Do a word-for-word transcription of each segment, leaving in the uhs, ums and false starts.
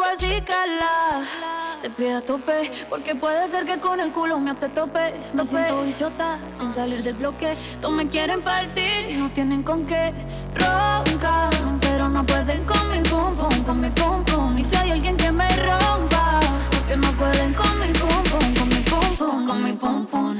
así, cala. Te pido a tope, porque puede ser que con el culo me te tope. Me siento bichota, sin salir del bloque. Todos me quieren partir y no tienen con qué. Roncan, pero no pueden con mi pum pum, con mi pum pum. Y si hay alguien que me rompa, porque no pueden con mi pum pum, con mi pum pum, con mi pum pum.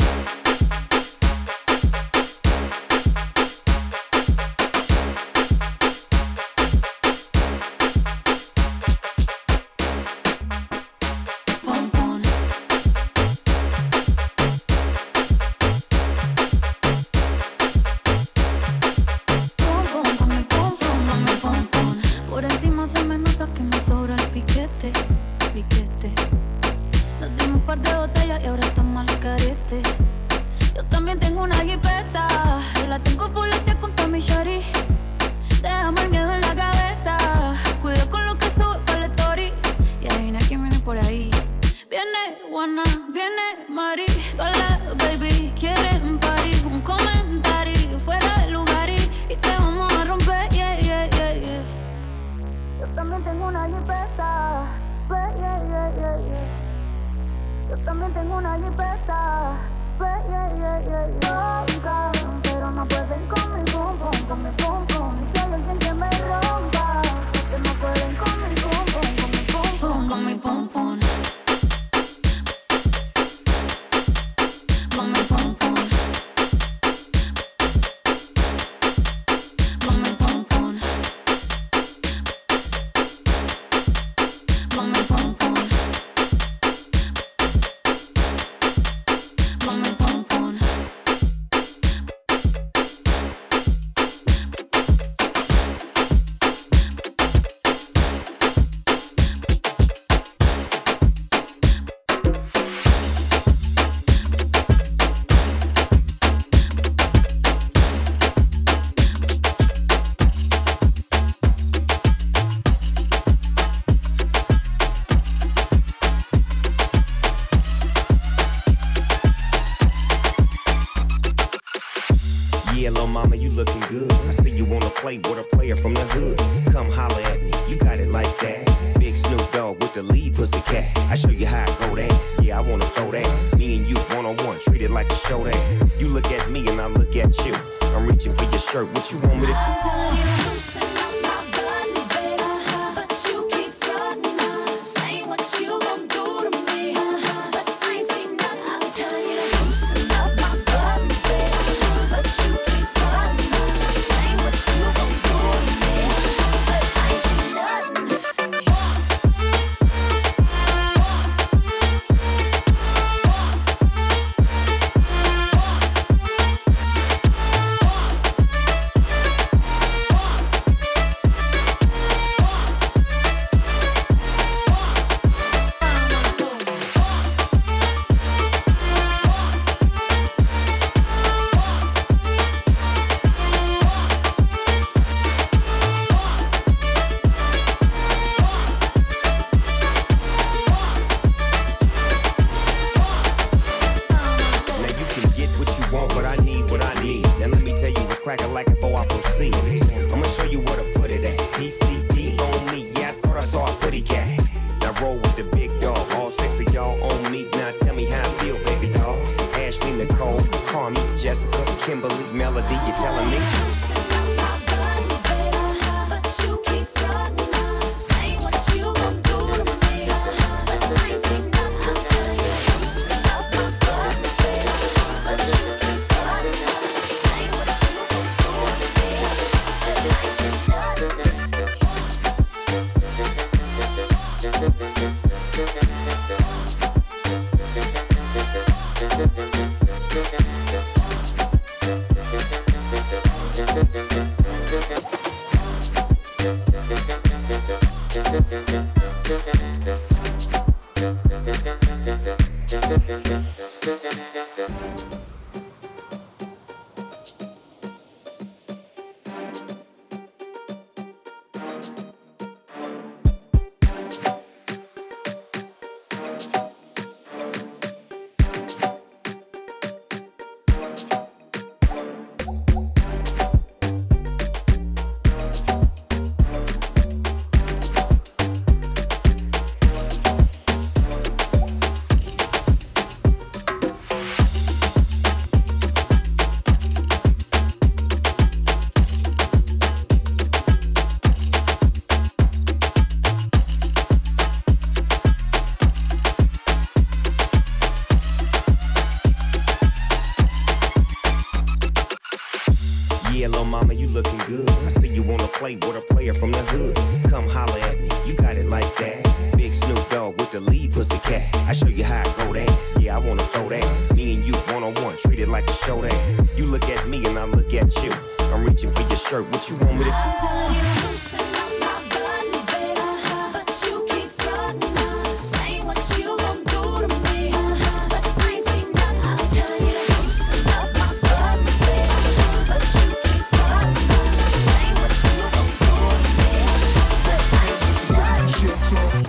player from the hood. Come holler at me, you got it like that. Big Snoop Dogg with the lead pussycat. I show you how I go that. Yeah, I wanna throw that. Me and you one on one, treat it like a show that. You look at me and I look at you. I'm reaching for your shirt. What you want me to? I'm telling you, loosen up my buttons, baby. Uh-huh. But you keep frontin', uh, saying what you gon' do to me. Uh-huh. But I ain't seen nothing. I'm telling you, loosen up my buttons, baby. Uh-huh. But you keep frontin', uh, saying what you gon' do to me. But I ain't seen nothing.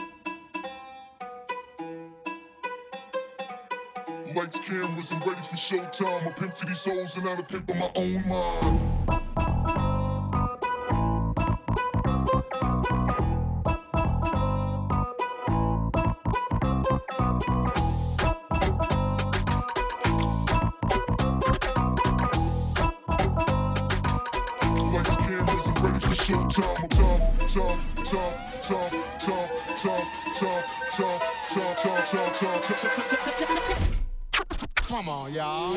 Lights, cameras, I'm ready for showtime. I pimp to these hoes and I pimp on my own mind. Lights, cameras, I'm ready for showtime. Top, top, top, top, top, top, top, top, top, top, top, top, top, top. Come on, y'all.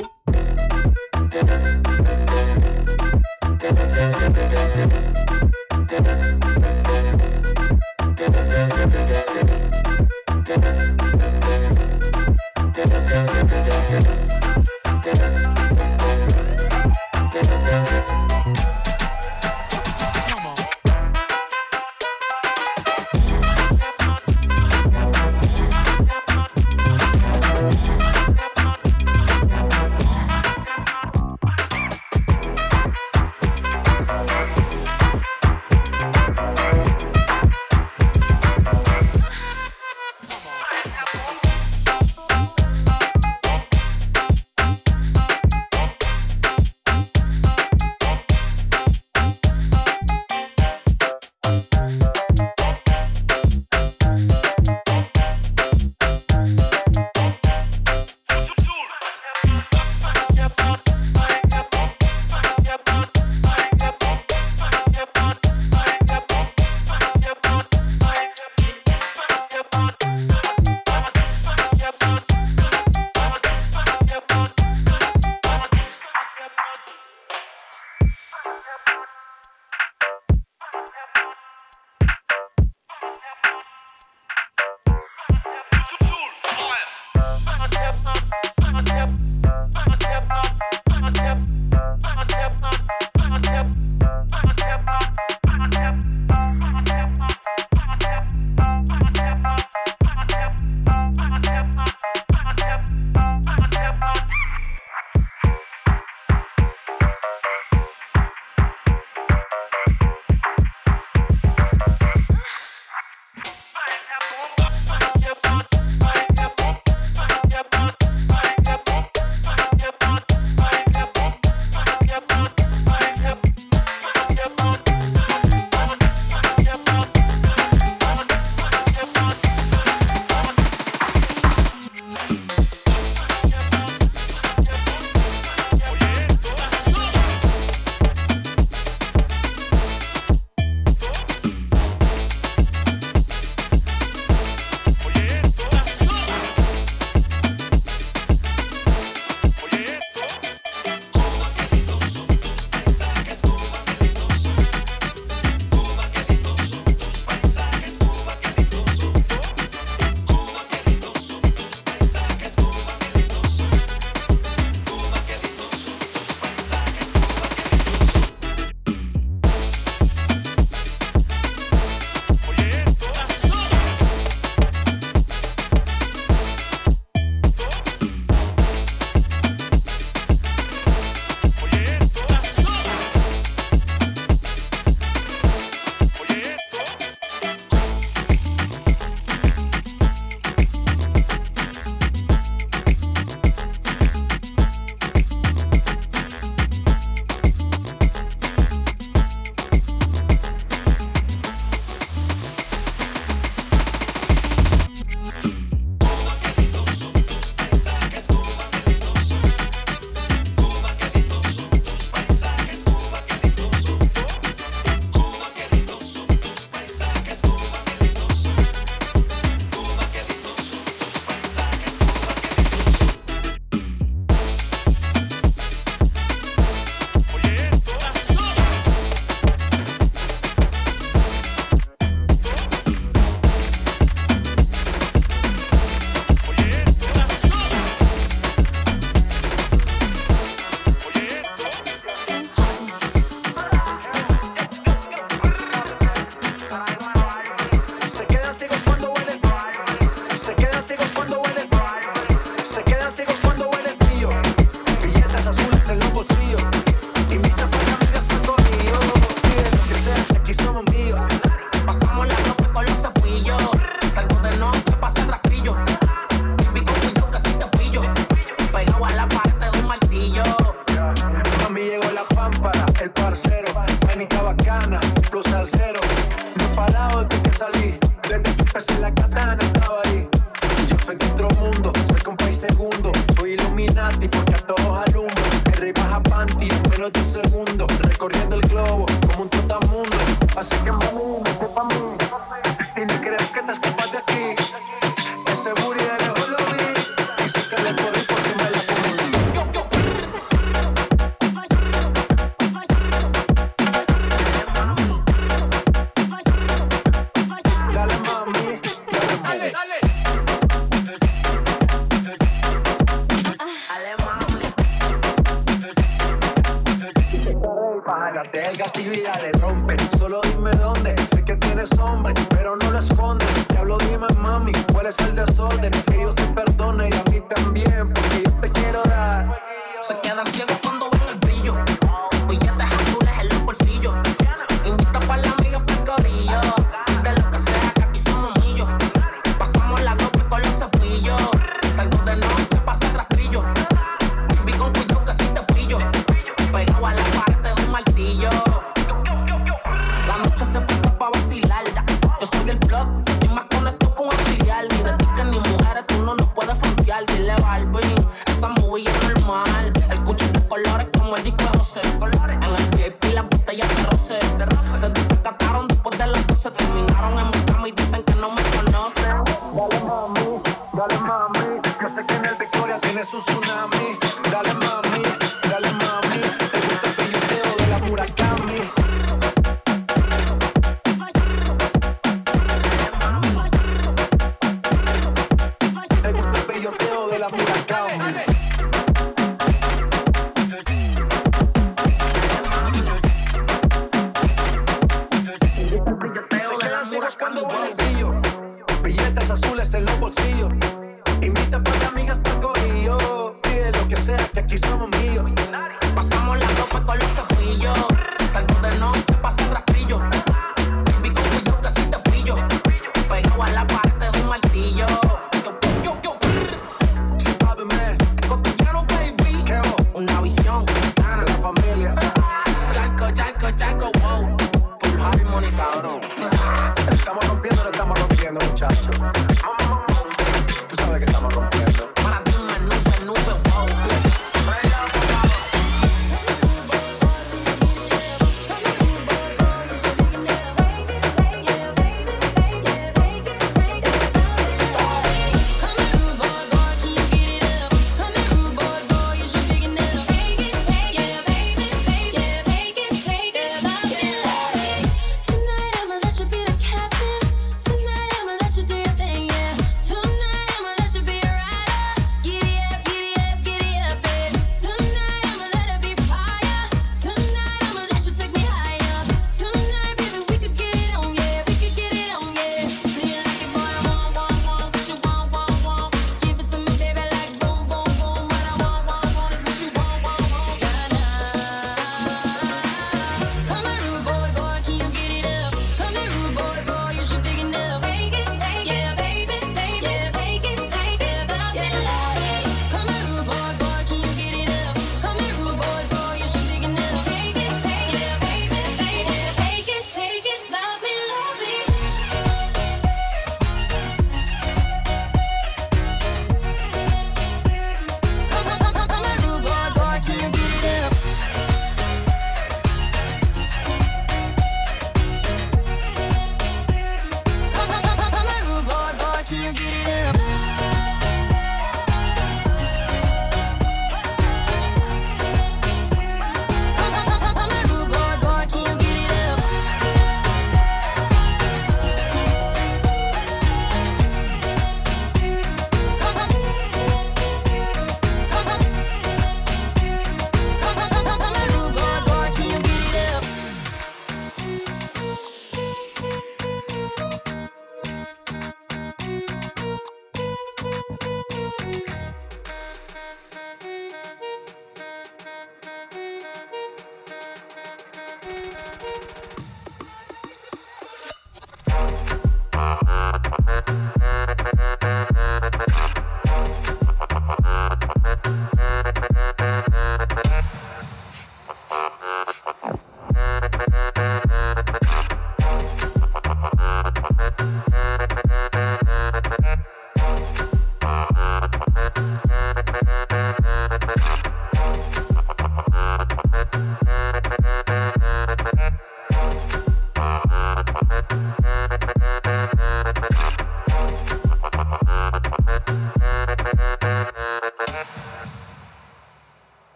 flow salsero. No he parado desde que salí. Desde que empecé la katana estaba ahí. Yo soy de otro mundo, soy con país segundo. Soy Illuminati porque a todos alumbro. El rey baja panty en menos de un segundo. Recorriendo el globo como un trotamundo. Así que mami, vete pa' mí. Y ni crees que te escapas de aquí. Ese booty de lejos lo vi. Y sé que le corrí porque me la comí. Dale mami, dale mami. Dale, bájate el gatillo y dale rompe. Solo dime dónde, sé que tienes hombre, pero no lo escondes. Te hablo, dime mami, cuál es el desorden. Que Dios te perdone y a mí también, porque yo te quiero dar. Se quedan ciegos cuando ven el brillo. Billetes azules en los bolsillos. Invita pa' la amiga pa'l corillo. De lo que sea, que aquí somos millos. Pasamos la copa con los cepillos. Salgo de noche pa' hacer rastrillo. Vi con cuidado que si te pillo. Pegado a la parte de un martillo. La noche se presta pa' vacilar. Yo soy el blog y más conecto con auxiliar. Ni de ti que ni mujeres tú no nos puedes frontear. Dile Barbie, esa movie es normal. El cuchillo de colores como el disco de José. En el V I P las botellas de rosé. Se desacataron después de las doce. Terminaron en mi cama y dicen que no me conocen. Dale mami, dale mami. Yo sé que en el Victoria tienes un tsunami. Dale mami, dale mami. Te gusta el pellizqueo de la Murakami. Te gusta el pellizqueo de la Murakami. Cuando ven el brillo, billetes azules en los bolsillos. Invita pa' amigas pa'l corillo. Pide lo que sea, que aquí somos míos. Pasamos la ropa con los cepillos. Salgo de noche pa' hacer rastrillo. Vi con cuidado que si te pillo. Pegado a la parte de un martillo. Sí, papi, man. Es cotidiano, baby. ¿Qué vos? Una visión De la familia. Charco, charco, charco, wow. Full harmony, cabrón. Estamos rompiendo, no estamos rompiendo, muchachos. Tú sabes que estamos rompiendo. Para ti una nube, nube, wow. Tonight I'ma let you be the captain. Tonight I'ma let you do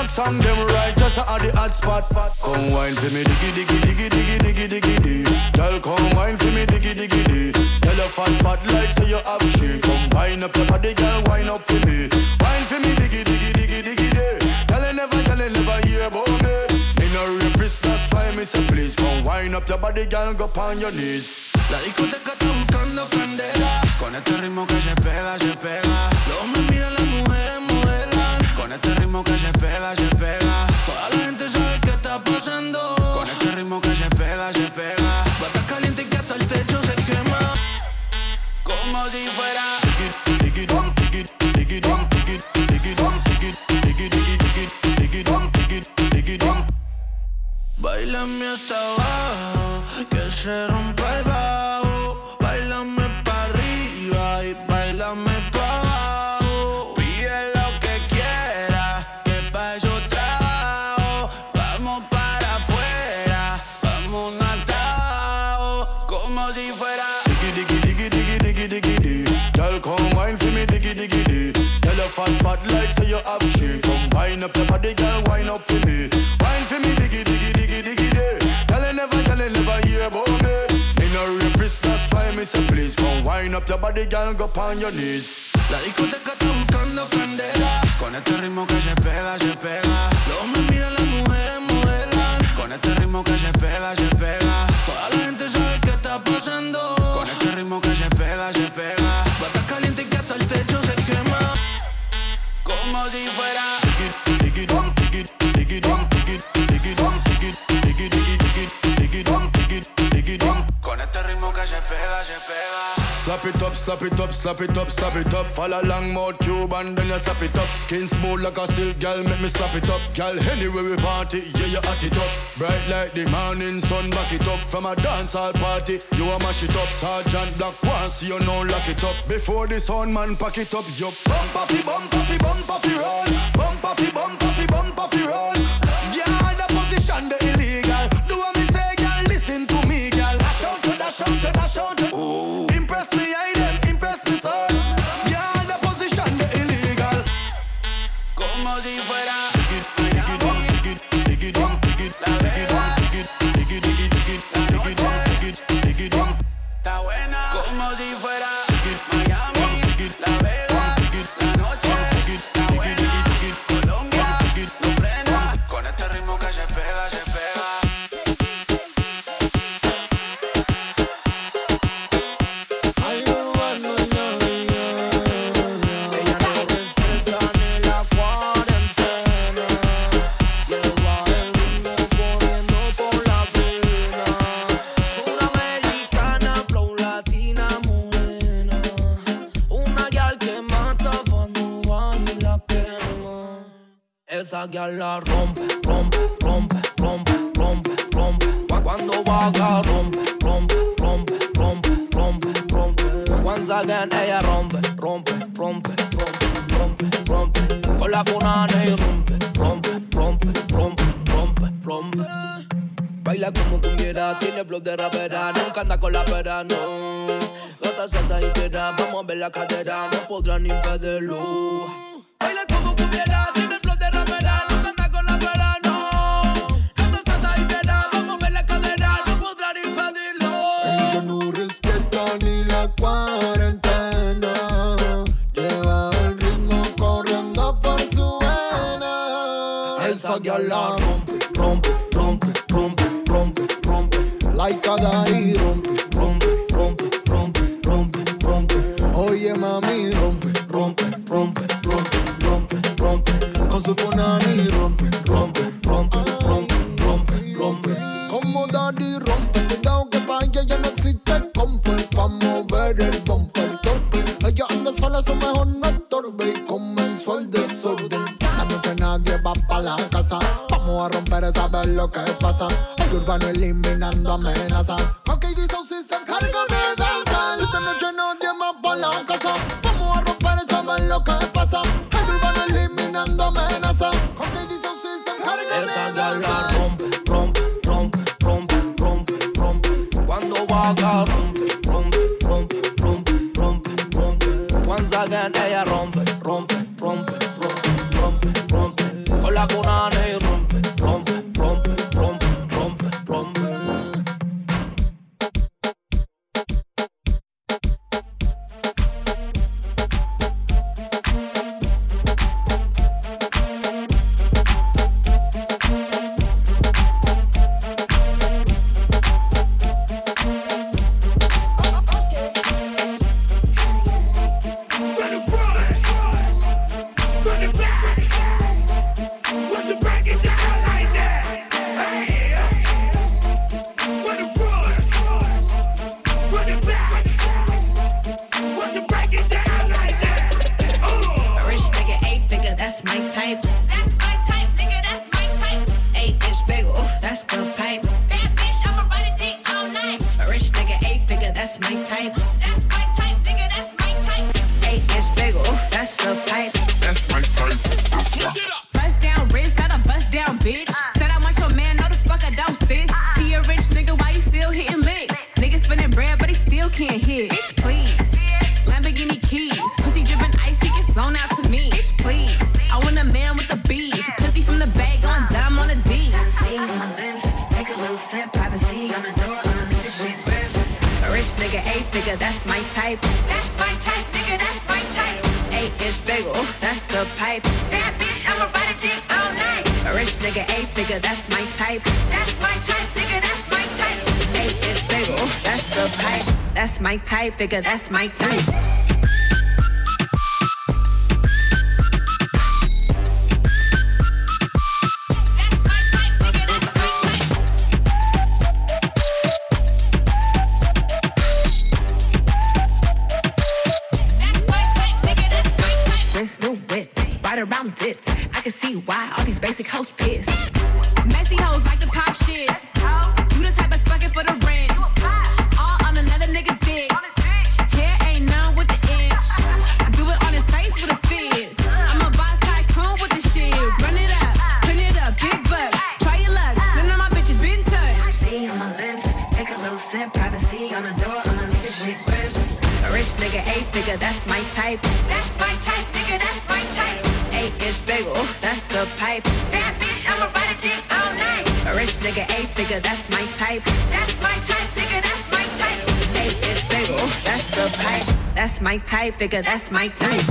song them right, just at the hot spot. Come wine for me, diggy diggy diggy diggy diggy diggy diggy. Girl, come wine for me, diggy diggy diggy. Tell your fat fat like so you have shit. Come wine up your body, girl, wine up for me. Wine for me, diggy diggy diggy diggy diggy. Tell you never, tell you never hear about me. Me no rapist, that's why me say please come wine up your body, girl, go on your knees. La discoteca está buscando candela. Con este ritmo que se pega, se pega. Los hombres miran, las mujeres modelan. Con este ritmo que se pega, se pega. Toda la gente sabe qué está pasando. Con este ritmo que se pega, se pega. Bata caliente que hasta el techo se quema. Como si fuera bailame hasta abajo, que se rompa el bajo. Bailame pa' arriba y bailame pa' abajo. Pide lo que quieras, que pa' eso trabajo. Vamos para afuera, vamos hasta abajo, como si fuera diggy diggy diggy diggy diggy diggy diggy. Girl, come wine for me, diggy diggy diggy. Tell your fat fat like so you have shit. Come wine up your body, girl, wine up for me. Wine for me, diggy diggy diggy diggy diggy. Tell you never, tell you never hear about me. Me no rapist, that's why me say please come wine up your body, girl, go on your knees. la discoteca está buscando candela. Con este ritmo que se pega, se pega. Los hombres miran, las mujeres modelan. Con este ritmo que se pega, se pega. Toda la gente sabe qué está pasando. Con este ritmo que se pega, se pega. Bata caliente que hasta el techo se quema. Como si fuera con este ritmo que se pega, se pega. Slap it up, slap it up, slap it up, slap it up. Follow along mouth tube and then you slap it up. Skin smooth like a silk, girl, make me slap it up. Girl, anywhere we party, yeah, you hot it up. Bright like the morning sun, back it up. From a dancehall party, you a mash it up. Sergeant Black, once you know lock it up. Before the sound man pack it up, you bump off, bump off, bump off, roll. Bump off, bump off, bump off, roll. Yeah, the position, the illegal. Do what me say, girl, listen to me, girl. Dash out, dash out, dash out. Ooh. Impress me, I them, impress me, son. Yeah, the position, the illegal. Como si fuera Miami, La Vega, la noche está buena. Como si fuera Miami, La Vega, la noche está buena. Colombia no frena. Con este ritmo que se pega, se pega. Esa guial la rompe, rompe, rompe, rompe, rompe, rompe. Pa' cuando baja rompe, rompe, rompe, rompe, rompe, rompe. Once again ella rompe, rompe, rompe, rompe, rompe, rompe. Con la punana y rompe, rompe, rompe, rompe, rompe, rompe. Baila como cumbiera, tiene flow de rapera, nunca anda con la pera, no. Gata senta y quiera, vamos a ver la cadera, no podrán impedirlo. Baila como cumbiera, tiene flow de rapera, nunca anda con la pera, no. Gata senta y quiera, vamos a ver la cadera, no podrán impedirlo. Ella no respeta ni la cuarentena, lleva el ritmo corriendo por su vena. Esa guial la rompe, rompe, rompe, rompe, rompe, rompe. Like a daddy rompe, rompe, rompe, rompe, rompe, rompe. Oye mami rompe, rompe, rompe, rompe, rompe, rompe. Con su punani rompe, rompe, rompe, rompe, rompe, rompe. Como daddy rompe, cuidado que pa' ella ya no existe compa. Pa' mover el bumper, torpe. Ella anda sola, su mejor no estorbe. Y comenzó el desorden. Dame que nadie va pa' la casa. Vamos a romper y saber lo que pasa. El urbano eliminando amenazas. Ok, dice un system, cárgame de danza. Esta noche nadie más pa' la casa. Vamos a romper y saber lo que pasa. El urbano eliminando amenazas. Ok, dice un system, cárgame Esa de guial la danza. rompe, rompe, rompe, rompe, rompe, rompe. Cuando baja rompe, rompe, rompe, rompe, rompe, rompe. Once again ella rompe, rompe, rompe, rompe, rompe, rompe. Con la cuna that's my type. That's my type, nigga, that's my type. Eight inch bagel, that's the pipe. That's my type. That's my Bust down wrist, not a bust down bitch. Said I want your man, no the fuck I don't sis. He a rich nigga, why you still hitting licks? Nigga spinning bread, but he still can't hit. Bitch, please. Lamborghini keys, pussy dripping ice, he get flown out to me. Bitch, please. I want a man with the beads, pussy from the bag on dumb on the D. See on my lips, take a little sip, privacy on the door, I don't need a shit grip. A rich nigga, eight figure, that's my type. That's my type, nigga, that's my type. Eight inch bagel, that's the pipe. That bitch, I'ma ride a dick all night. A rich nigga, eight figure, that's my type. That's my type, nigga, that's my type. Eight inch bagel, that's the pipe. That's my type, figure, that's my type. Around dips, I can see why all these basic hoes pissed. Messy hoes like to pop shit. You the type of fucking for the rent. All on another nigga dick. Hair ain't none with the inch. I do it on his face with a fizz. I'm a boss tycoon with the shit. Run it up, clean it up, big bucks. Try your luck, none of my bitches been touched. See on my lips, take a little sip. Privacy on the door, I'ma make this shit grip. A rich nigga, eight figure, that's my type. That's my type, nigga, that's my type. Eight inch bagel, that's the pipe. That bitch, I'ma ride a dick all night. A rich nigga, eight figure, that's my type. That's my type, nigga, that's my type. Eight inch bagel, that's the pipe. That's my type, figure, that's my type.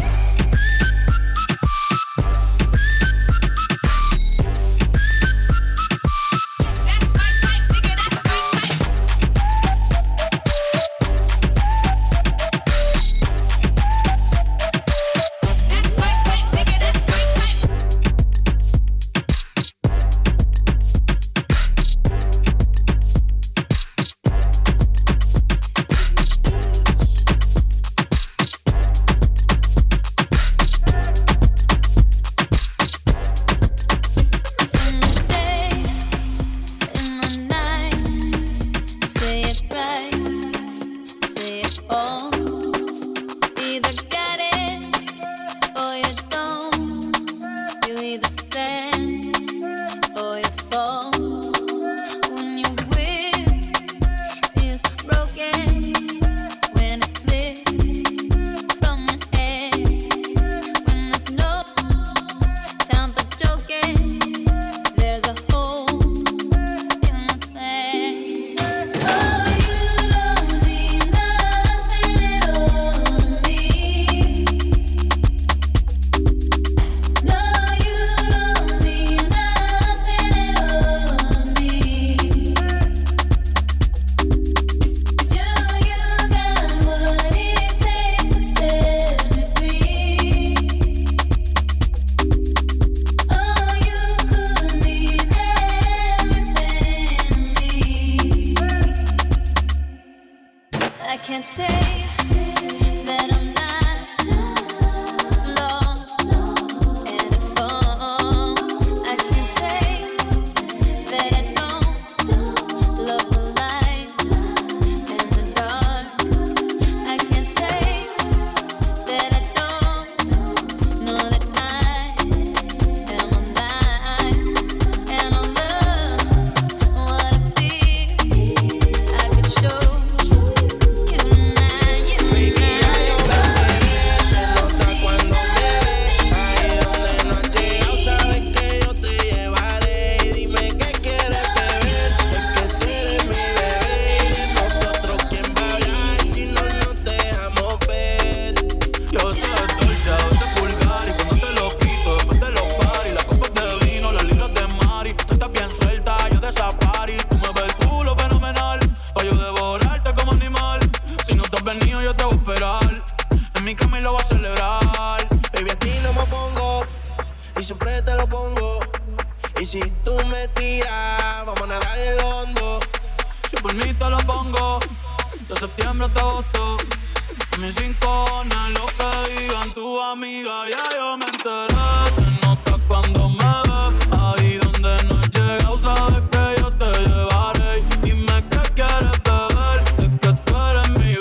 si tú me tiras, vamos a nadar el hondo. Si por mí te lo pongo, de septiembre hasta agosto. A mí sin cojones lo que digan tu amiga, ya yo me enteré. Se nota cuando me ves, ahí donde no he llegado, sabes que yo te llevaré. Dime qué quieres beber, es que tú eres mi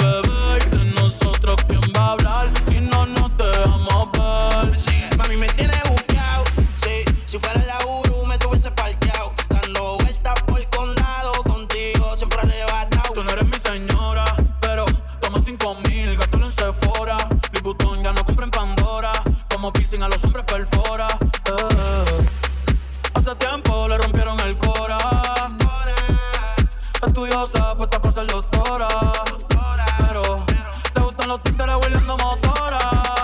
arrebatado. Tú no eres mi señora, pero toma cinco mil, gástalo en Sephora. Louis Vuitton ya no compra en Pandora. Como piercing a los hombres perfora. Eh. Hace tiempo le rompieron el cora. Estudiosa, puesta por ser doctora. Pero le gustan los títeres huirleando motora.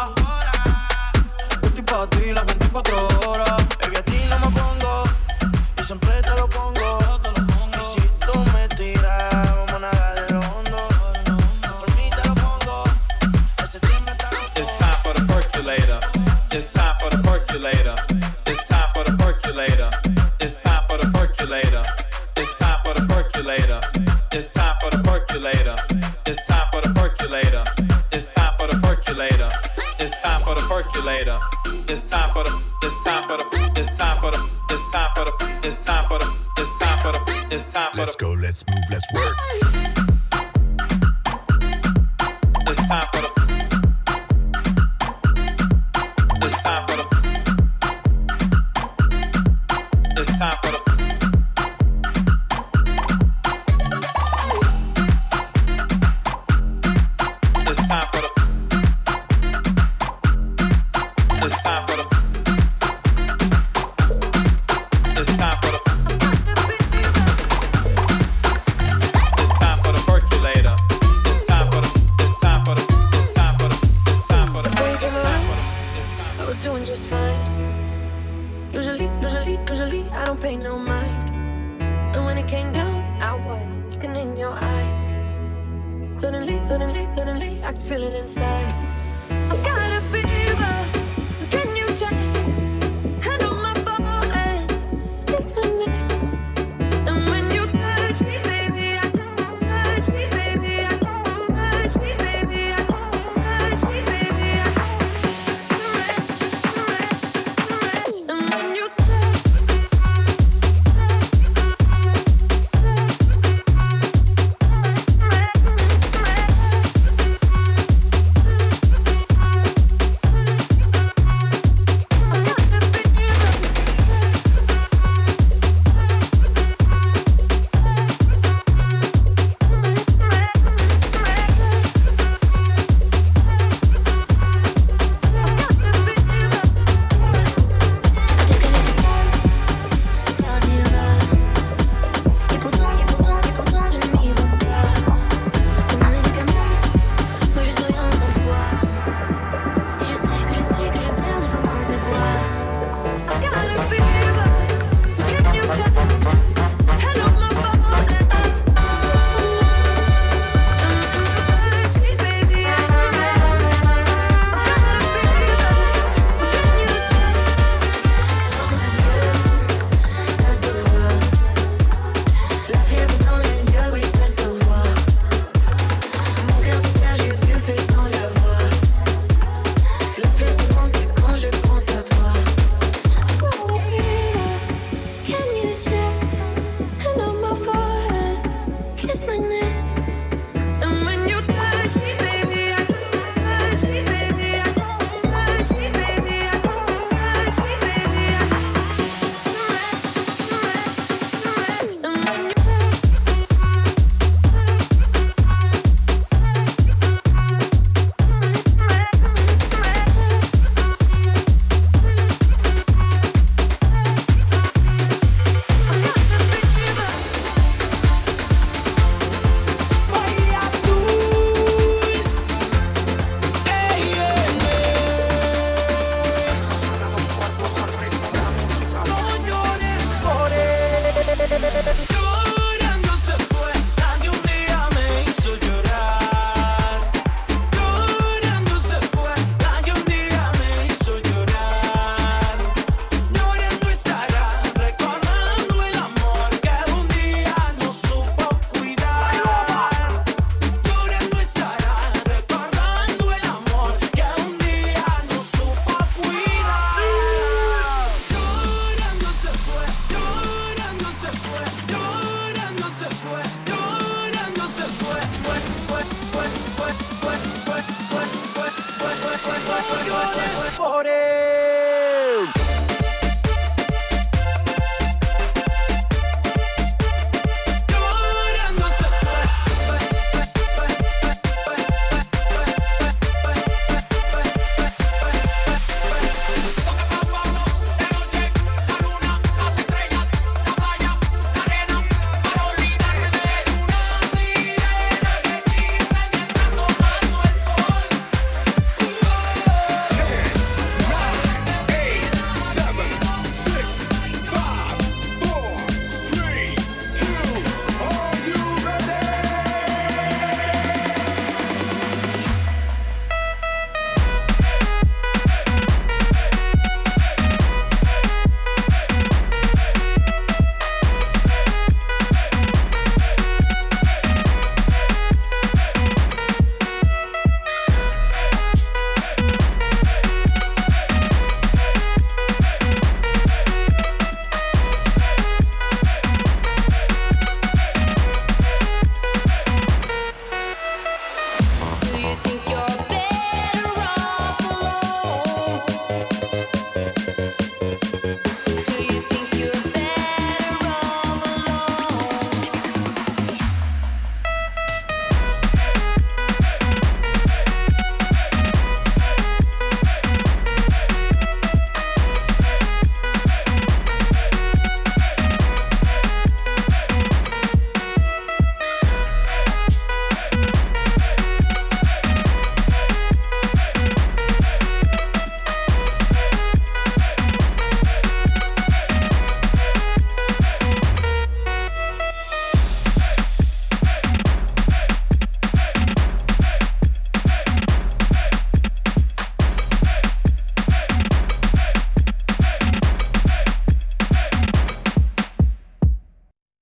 Yo estoy pa' ti las veinticuatro horas. Baby, a ti no me pongo y siempre te lo pongo. Y si tú me tiras, vamos a nadarlo hondo. Si por mí te lo pongo, ese timbre está roto. It's time for the percolator. It's time for the percolator. It's time for the percolator. It's time for the percolator. It's time for the percolator. It's time for the percolator. It's time for the percolator. It's time for the percolator. It's time for the percolator. It's time for the. It's time for the. It's time for the. It's time for the. It's time for the. It's time for the. It's time for the. Let's go, let's move, let's work. It's time for the. It's time for the. It's time for the. It's time for the. It's time for the. It's time for the. It's time for the percolator. It's time for the. It's time for the. It's time for the. It's time for the. Before you came It's time around, for the. I was doing just fine. Usually, usually, usually, I don't pay no mind. And when it came down, I was looking in your eyes. Suddenly, suddenly, suddenly, I could feel it inside.